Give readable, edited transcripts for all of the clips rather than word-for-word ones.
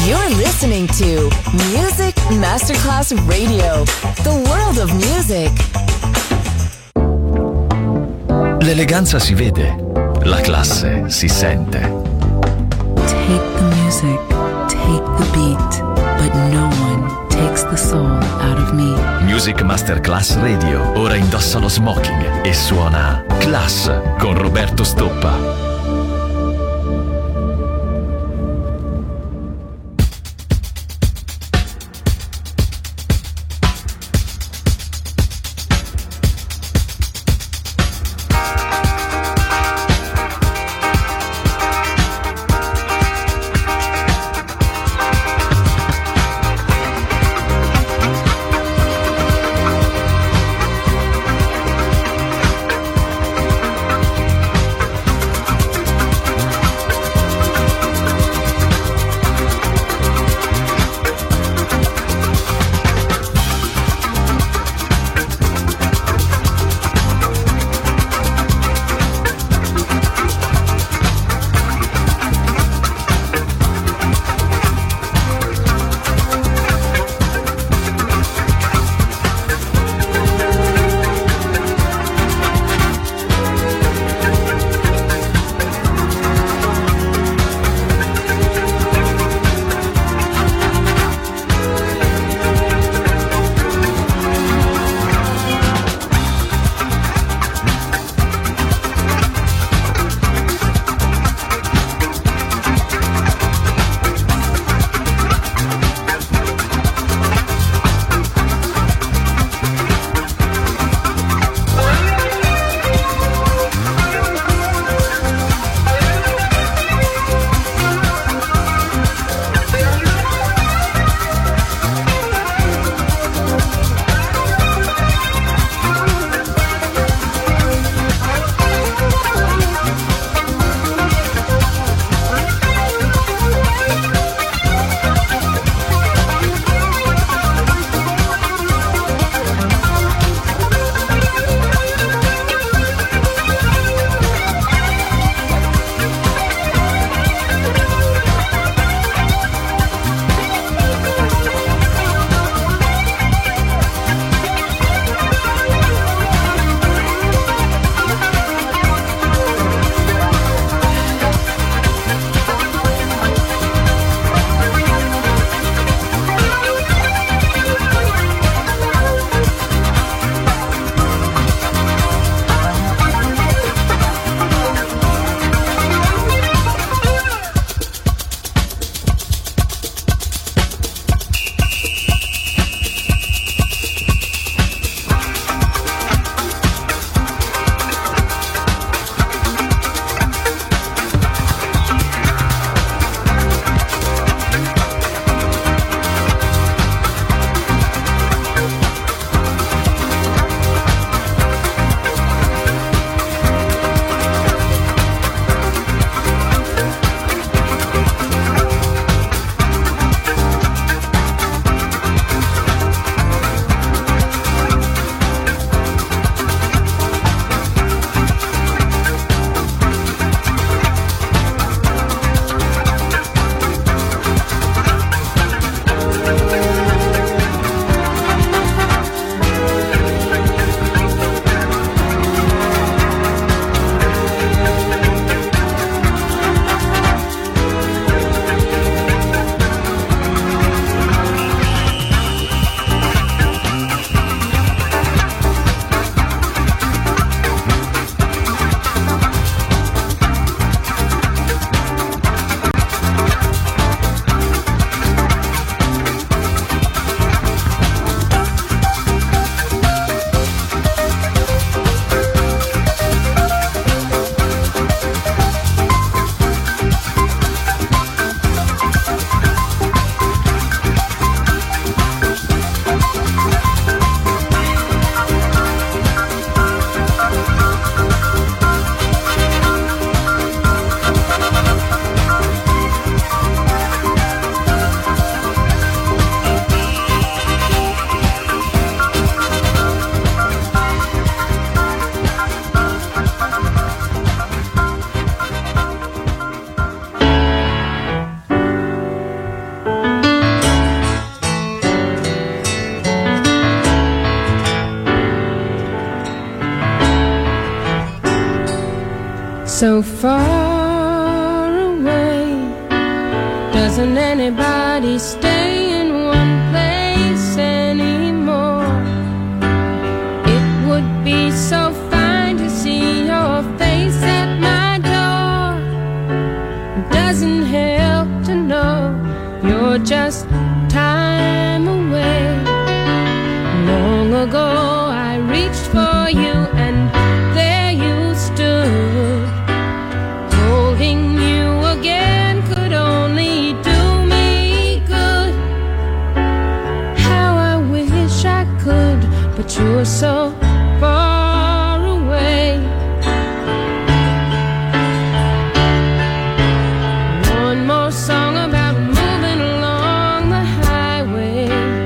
You're listening to Music Masterclass Radio, the world of music. L'eleganza si vede, la classe si sente. Take the music, take the beat, but no one takes the soul out of me. Music Masterclass Radio, ora indossa lo smoking e suona Class con Roberto Stoppa. so far away. Doesn't anybody stay in one place anymore? It would be so fine to see your face at my door. It doesn't help to know you're just time away. Long ago I reached for you and there you stood. Holding you again could only do me good. How I wish I could, but you're so far away. One more song about moving along the highway.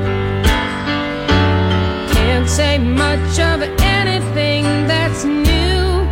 Can't say much of anything that's new.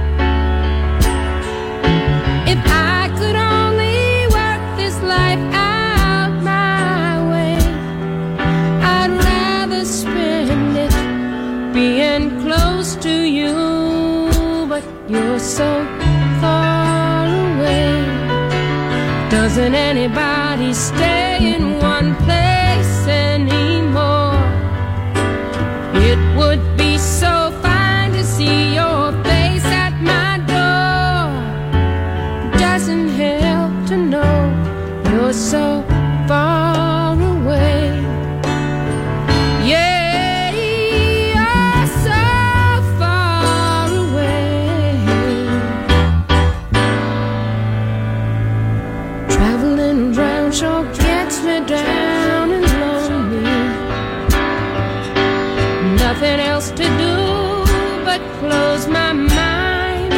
If I could only work this life out my way, I'd rather spend it being close to you, but you're so far away. Doesn't anybody stay in one place anymore? It would be so fine to see your face at my door. Doesn't help to know you're so far away. Yeah, you're so far away. Traveling around sure gets me down and lonely. Nothing else to do but close my mind.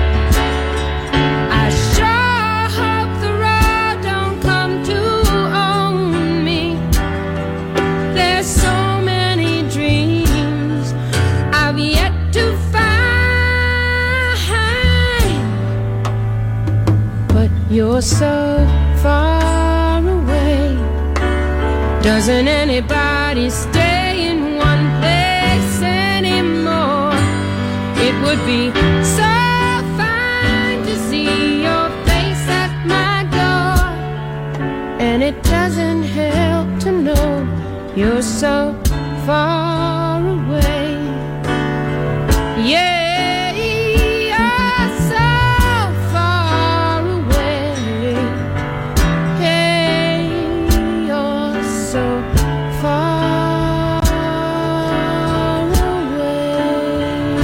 I sure hope the road don't come to own me. There's so many dreams I've yet to find, but you're so far away. Doesn't anybody stay in one place anymore? It would be so fine to see your face at my door. And it doesn't help to know you're so far away. Yeah, you're so far away. Hey, you're so far away.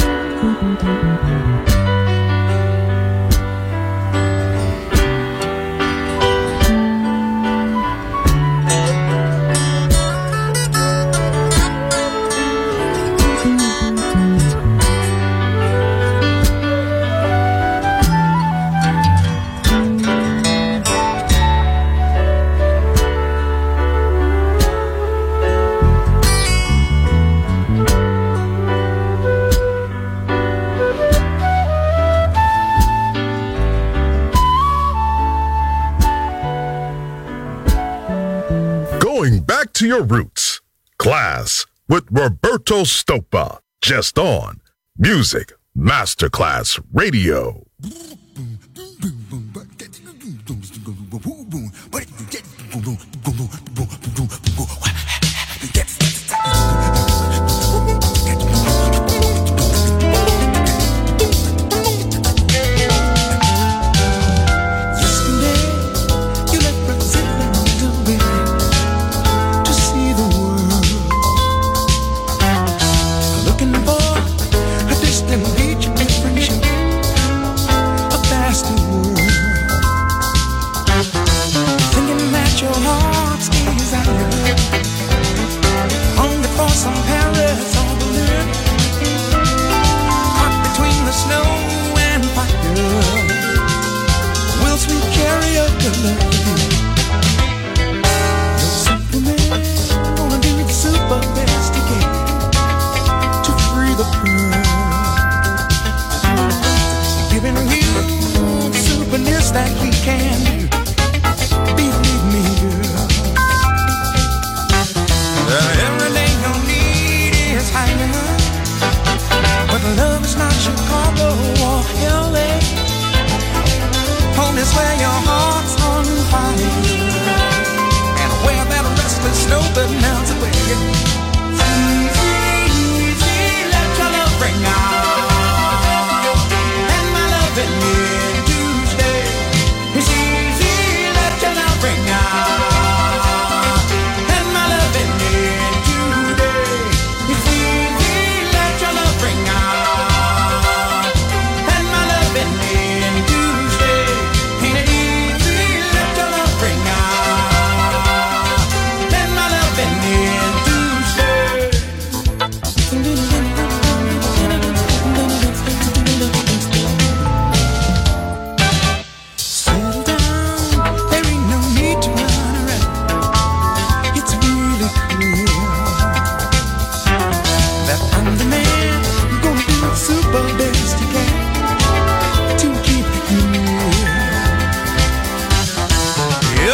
Going back to your roots. Class with Roberto Stoppa. Just on Music Masterclass Radio. Thinking that your heart's desire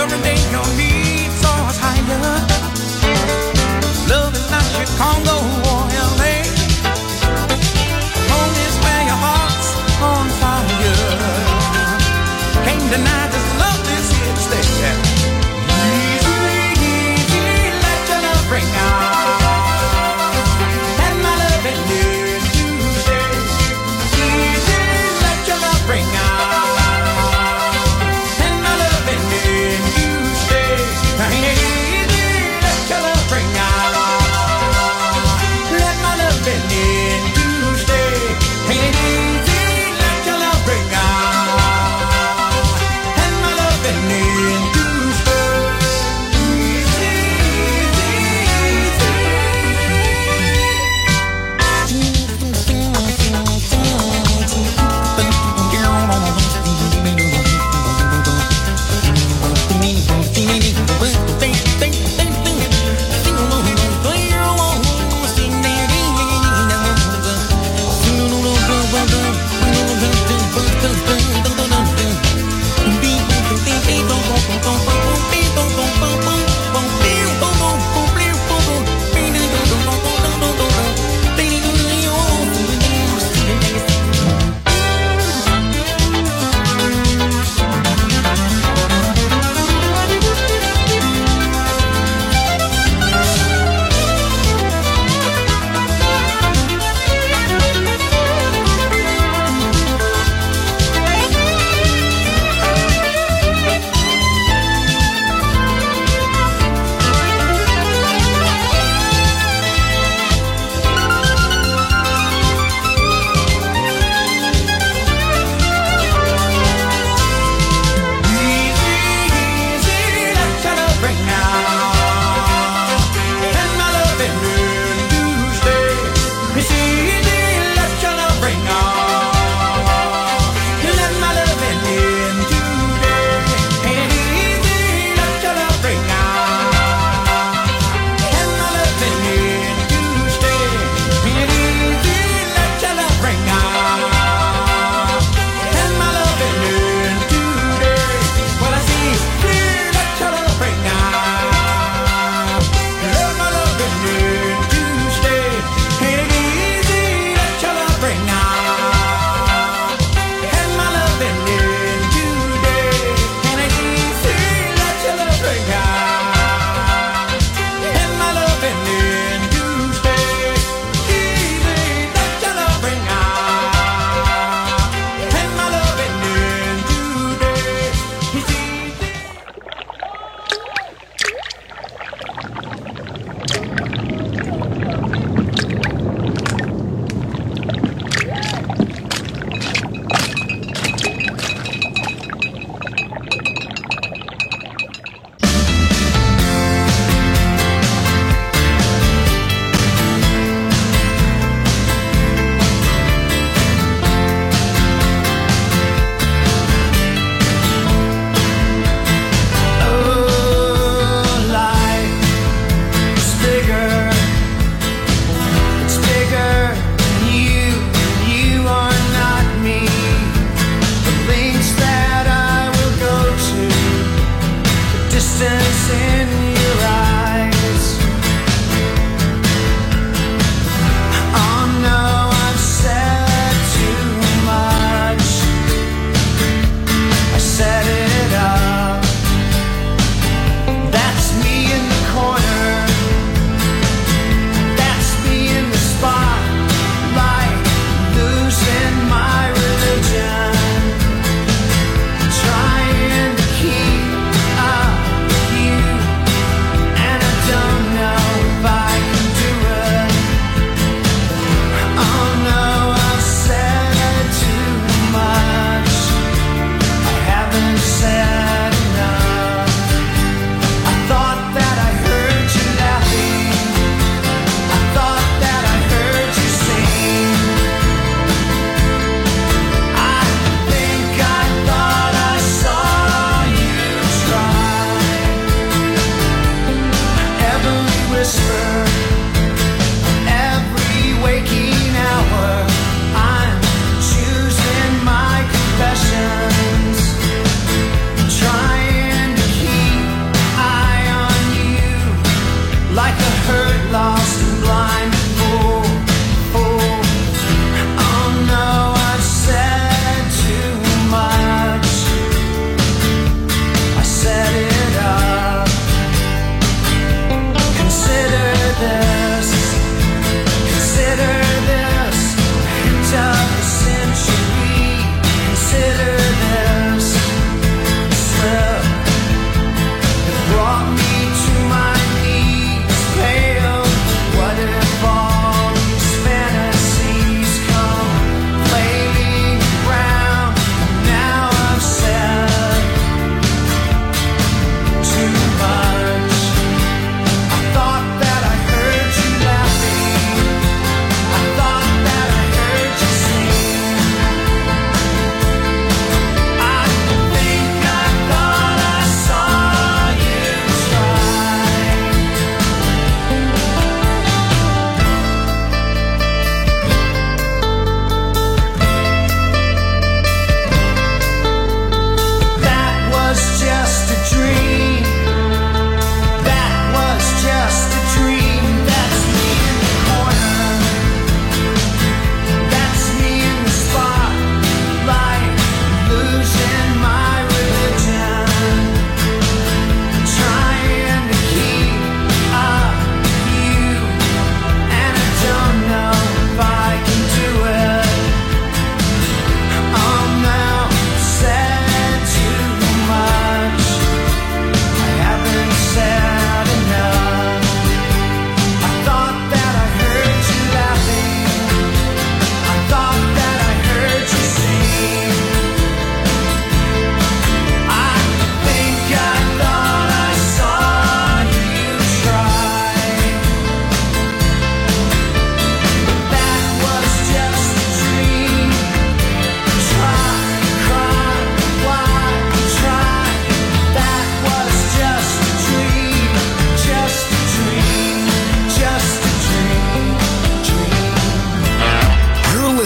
every day your needs are higher. Love is not Chicago or LA. Home is where your heart's on fire. Can't deny this love is here to stay. Easy, easy, let your love ring out. And my love is here to stay. Easy, let your love ring out. And my love is here to stay. Easy, let your love ring out. Let my love in to stay. Ain't it easy? Let your love ring out. And my love in to stay. Easy,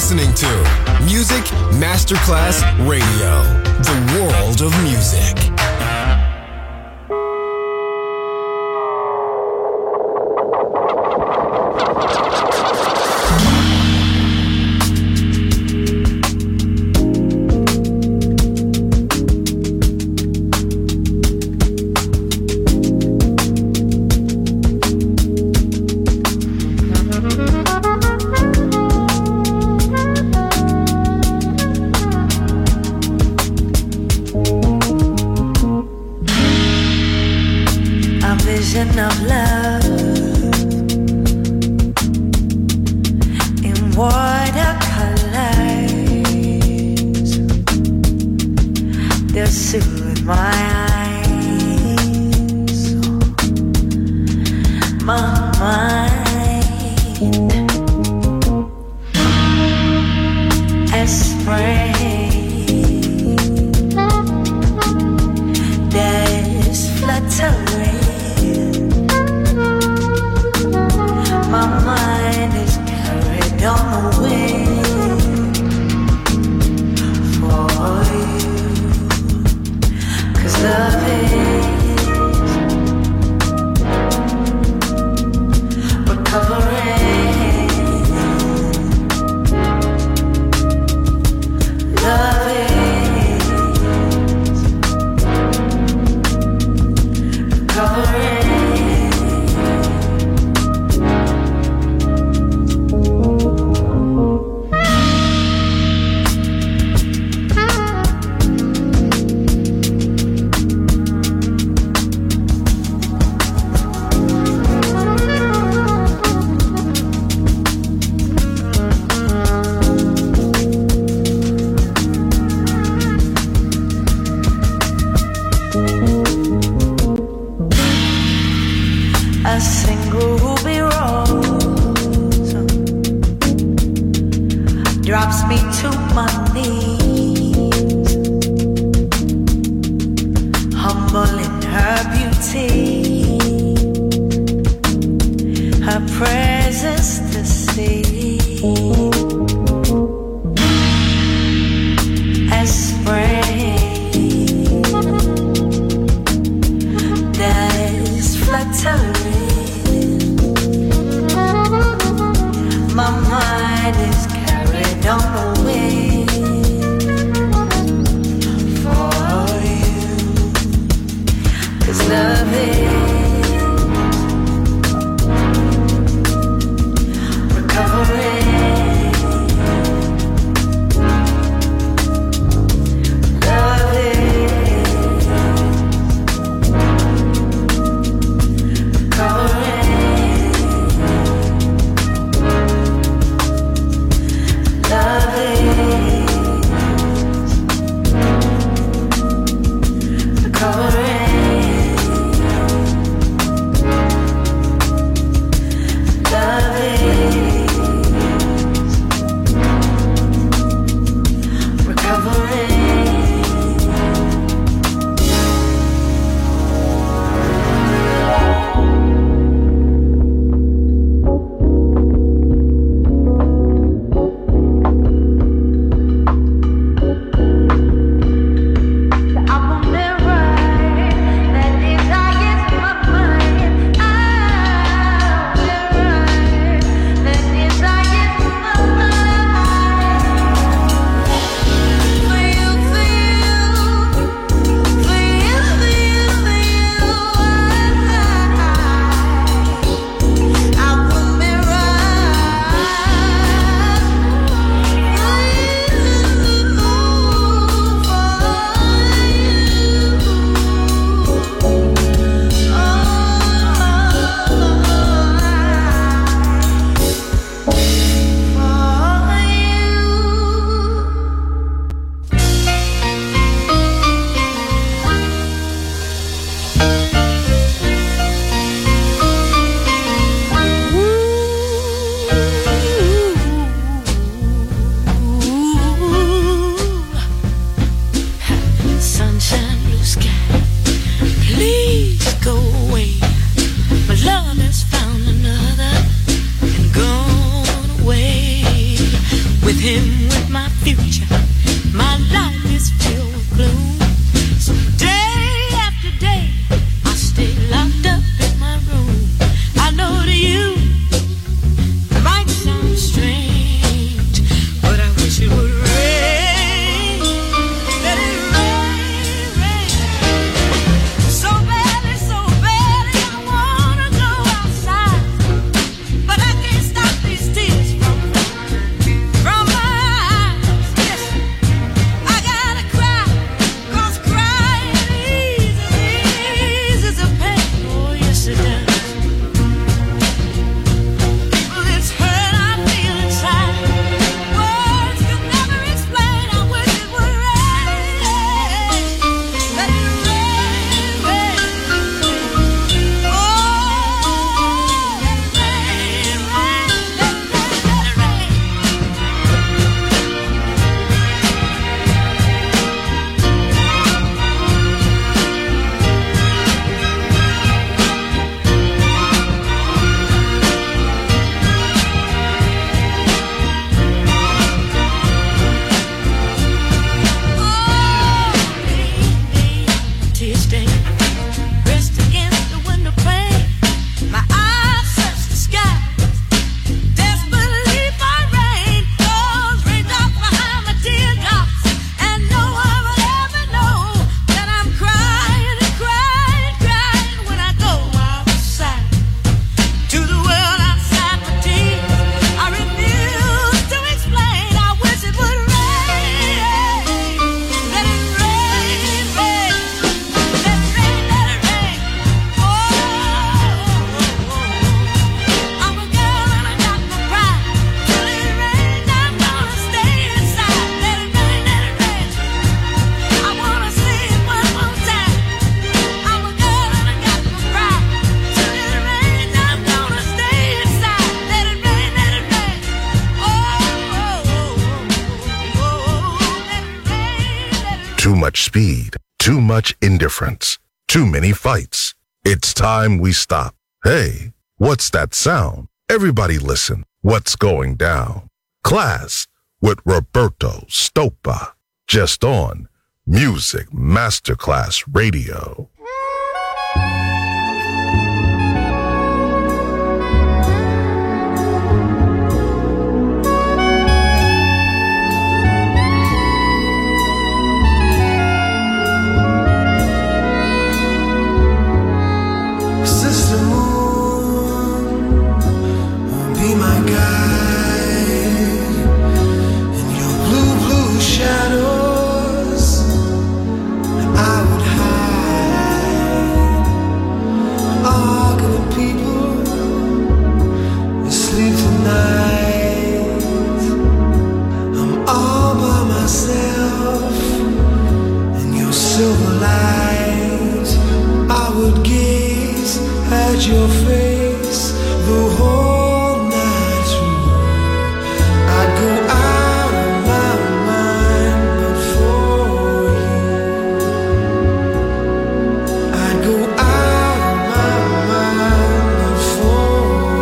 listening to Music Masterclass Radio, the world of music. Of love in watercolors, they'll soothe my eyes, my mind, as spring that's fluttering. My mind is carried on the wind for you, 'cause love is recovering. Love is recovering. A single ruby rose drops me to my knees, humble in her beauty, her presence to see, as spring that is fluttering. My mind is carried on the wind for you, 'cause love is recovering. Love is recovering. Love is recovering. much speed, too much indifference, too many fights. It's time we stop. Hey, what's that sound? Everybody listen. What's going down? Class with Roberto Stoppa. Just on Music Masterclass Radio. Your face the whole night through. I'd go out of my mind but for you. I'd go out of my mind but for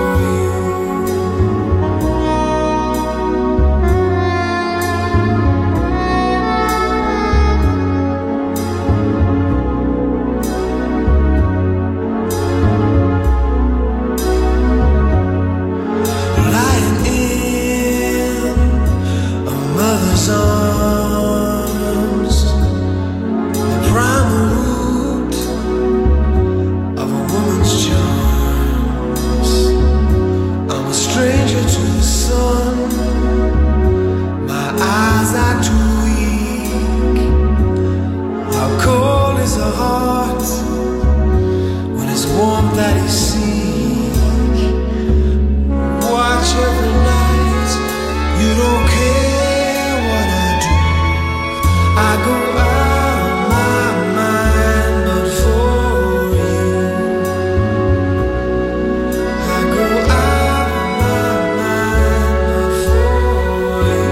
arms, the primal root of a woman's charms. I'm a stranger to the sun, my eyes are too weak. How cold is a heart when it's warm that is seek? Watch every night, you don't care. I go out of my mind but for you. I go out of my mind but for you.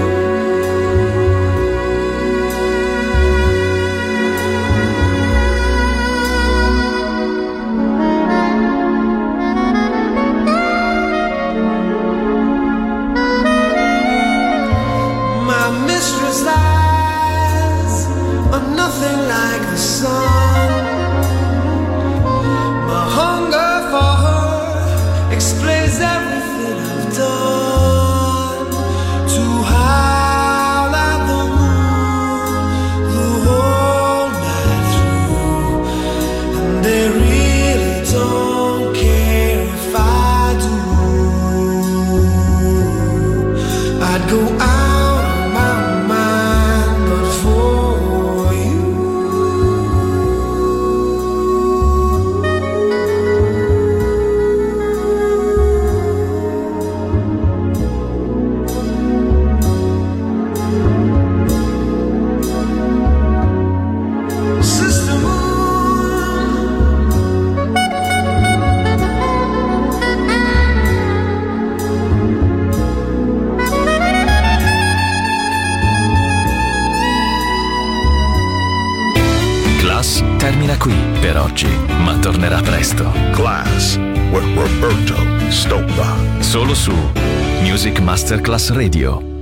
My mistress nothing like the sun. My hunger for her explains everything I've done. To howl at the moon the whole night through, and they really don't care if I do. I'd go out of my mind but for termina qui per oggi, ma tornerà presto. Class with Roberto Stoppa. Solo su Music Masterclass Radio.